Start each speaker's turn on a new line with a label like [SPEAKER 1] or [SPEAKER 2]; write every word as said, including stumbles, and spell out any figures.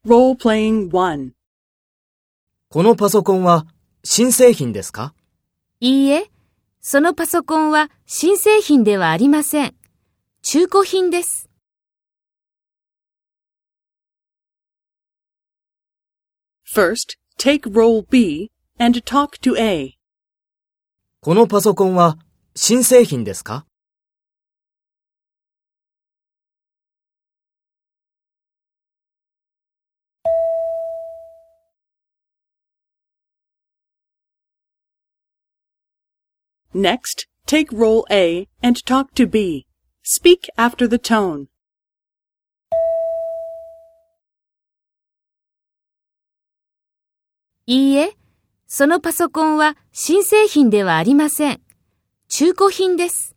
[SPEAKER 1] Role-playing one.
[SPEAKER 2] このパソコンは新製品ですか？
[SPEAKER 3] いいえ、そのパソコンは新製品ではありません。中古品です。
[SPEAKER 1] First, take role B and talk to A.
[SPEAKER 2] このパソコンは新製品ですか？
[SPEAKER 1] Next, take role A and talk to B. Speak after the tone.
[SPEAKER 3] いいえ、そのパソコンは新製品ではありません。中古品です。